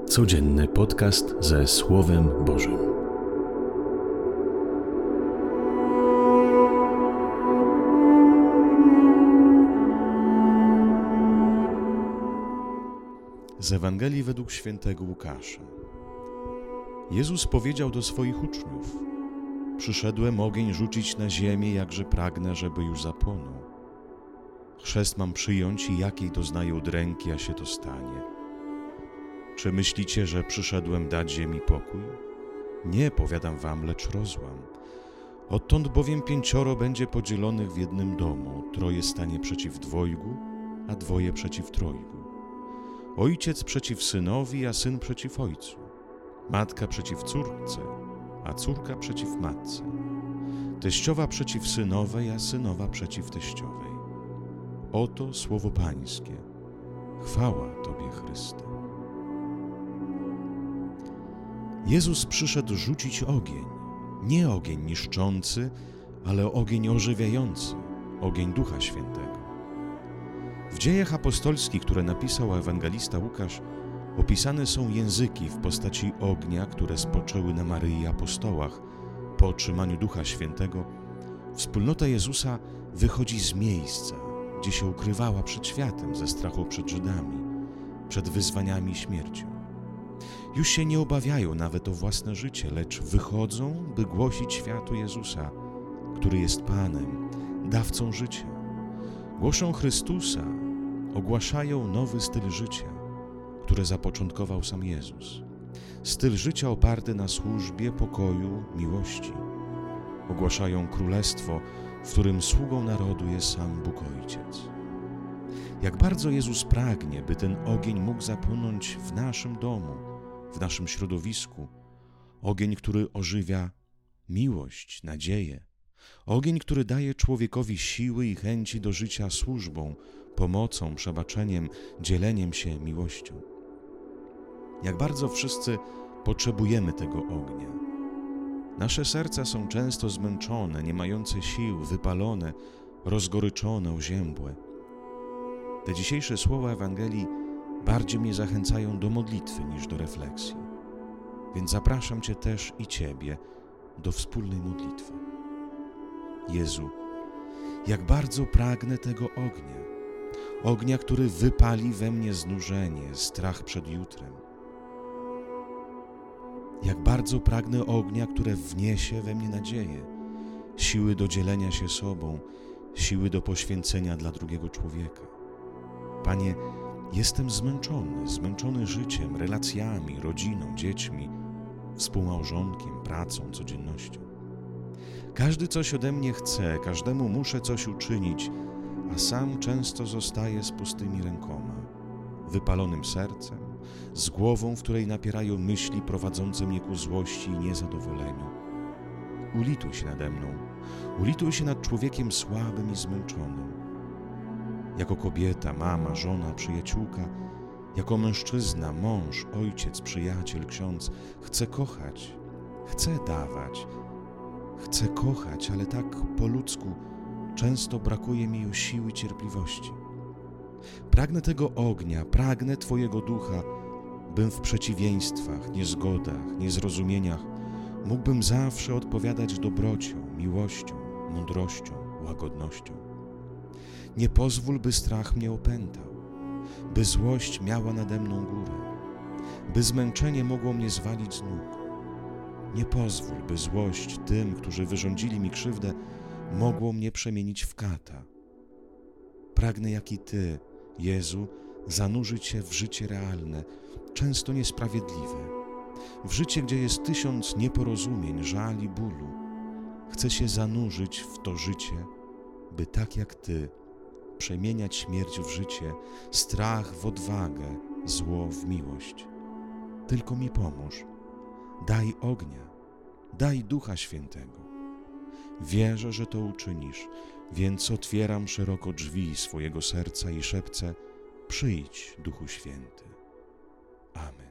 Codzienny podcast ze Słowem Bożym. Z Ewangelii według świętego Łukasza. Jezus powiedział do swoich uczniów: przyszedłem ogień rzucić na ziemię, jakże pragnę, żeby już zapłonął. Chrzest mam przyjąć i jakiej doznaję udręki, a się to stanie. Czy myślicie, że przyszedłem dać ziemi pokój? Nie, powiadam wam, lecz rozłam. Odtąd bowiem 5 będzie podzielonych w jednym domu, 3 stanie przeciw 2, a 2 przeciw 3. Ojciec przeciw synowi, a syn przeciw ojcu. Matka przeciw córce, a córka przeciw matce. Teściowa przeciw synowej, a synowa przeciw teściowej. Oto słowo Pańskie. Chwała Tobie, Chryste. Jezus przyszedł rzucić ogień. Nie ogień niszczący, ale ogień ożywiający, ogień Ducha Świętego. W Dziejach Apostolskich, które napisał ewangelista Łukasz, opisane są języki w postaci ognia, które spoczęły na Maryi i apostołach. Po otrzymaniu Ducha Świętego wspólnota Jezusa wychodzi z miejsca, gdzie się ukrywała przed światem ze strachu przed Żydami, przed wyzwaniami i śmiercią. Już się nie obawiają nawet o własne życie, lecz wychodzą, by głosić światu Jezusa, który jest Panem, dawcą życia. Głoszą Chrystusa, ogłaszają nowy styl życia, które zapoczątkował sam Jezus. Styl życia oparty na służbie, pokoju, miłości. Ogłaszają królestwo, w którym sługą narodu jest sam Bóg Ojciec. Jak bardzo Jezus pragnie, by ten ogień mógł zapłonąć w naszym domu, w naszym środowisku. Ogień, który ożywia miłość, nadzieję. Ogień, który daje człowiekowi siły i chęci do życia służbą, pomocą, przebaczeniem, dzieleniem się miłością. Jak bardzo wszyscy potrzebujemy tego ognia. Nasze serca są często zmęczone, nie mające sił, wypalone, rozgoryczone, oziębłe. Te dzisiejsze słowa Ewangelii bardziej mnie zachęcają do modlitwy niż do refleksji. Więc zapraszam Cię też i Ciebie do wspólnej modlitwy. Jezu, jak bardzo pragnę tego ognia. Ognia, który wypali we mnie znużenie, strach przed jutrem. Jak bardzo pragnę ognia, które wniesie we mnie nadzieję, siły do dzielenia się sobą, siły do poświęcenia dla drugiego człowieka. Panie, jestem zmęczony życiem, relacjami, rodziną, dziećmi, współmałżonkiem, pracą, codziennością. Każdy coś ode mnie chce, każdemu muszę coś uczynić, a sam często zostaję z pustymi rękoma, wypalonym sercem, z głową, w której napierają myśli prowadzące mnie ku złości i niezadowoleniu. Ulituj się nade mną, ulituj się nad człowiekiem słabym i zmęczonym. Jako kobieta, mama, żona, przyjaciółka, jako mężczyzna, mąż, ojciec, przyjaciel, ksiądz, chcę kochać, chcę dawać, chcę kochać, ale tak po ludzku często brakuje mi już siły i cierpliwości. Pragnę tego ognia, pragnę Twojego ducha, bym w przeciwieństwach, niezgodach, niezrozumieniach mógłbym zawsze odpowiadać dobrocią, miłością, mądrością, łagodnością. Nie pozwól, by strach mnie opętał, by złość miała nade mną górę, by zmęczenie mogło mnie zwalić z nóg. Nie pozwól, by złość tym, którzy wyrządzili mi krzywdę, mogło mnie przemienić w kata. Pragnę, jak i Ty, Jezu, zanurzyć się w życie realne, często niesprawiedliwe, w życie, gdzie jest 1000 nieporozumień, żal i bólu. Chcę się zanurzyć w to życie, by tak jak Ty przemieniać śmierć w życie, strach w odwagę, zło w miłość. Tylko mi pomóż. Daj ognia, daj Ducha Świętego. Wierzę, że to uczynisz, więc otwieram szeroko drzwi swojego serca i szepcę: przyjdź, Duchu Święty. Amen.